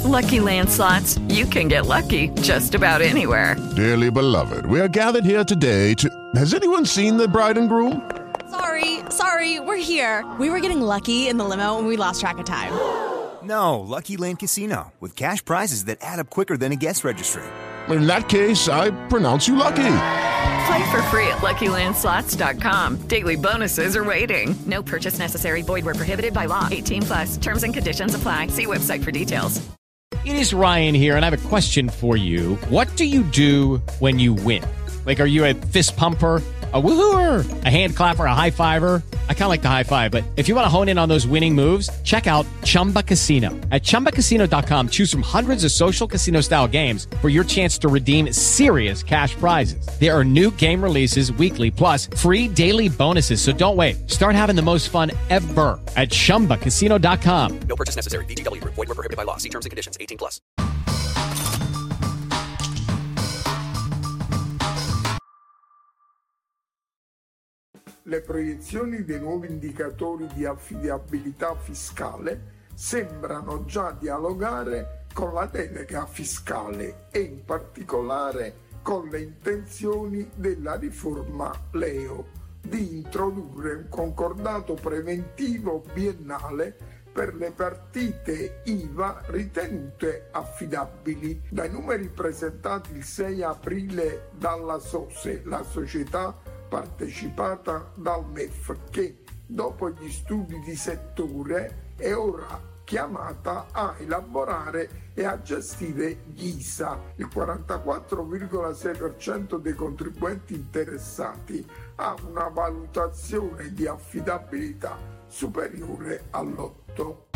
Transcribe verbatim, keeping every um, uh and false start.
Lucky Land Slots, you can get lucky just about anywhere. Dearly beloved, we are gathered here today to... Has anyone seen the bride and groom? Sorry, sorry, we're here. We were getting lucky in the limo and we lost track of time. No, Lucky Land Casino, with cash prizes that add up quicker than a guest registry. In that case, I pronounce you lucky. Play for free at Lucky Land Slots dot com. Daily bonuses are waiting. No purchase necessary. Void where prohibited by law. eighteen plus. Terms and conditions apply. See website for details. It is Ryan here, and I have a question for you. What do you do when you win? Like, are you a fist pumper, a woohooer, a hand clapper, a high fiver? I kind of like the high five, but if you want to hone in on those winning moves, check out Chumba Casino. At chumba casino dot com, choose from hundreds of social casino style games for your chance to redeem serious cash prizes. There are new game releases weekly, plus free daily bonuses. So don't wait. Start having the most fun ever at chumba casino dot com. No purchase necessary. V G W. Void where prohibited by law. See terms and conditions. eighteen plus. Le proiezioni dei nuovi indicatori di affidabilità fiscale sembrano già dialogare con la delega fiscale e in particolare con le intenzioni della riforma Leo di introdurre un concordato preventivo biennale per le partite I V A ritenute affidabili. Dai numeri presentati il sei aprile dalla S O S E, la società partecipata dal M E F, che dopo gli studi di settore è ora chiamata a elaborare e a gestire gli I S A. Il quarantaquattro virgola sei per cento dei contribuenti interessati ha una valutazione di affidabilità superiore all'otto.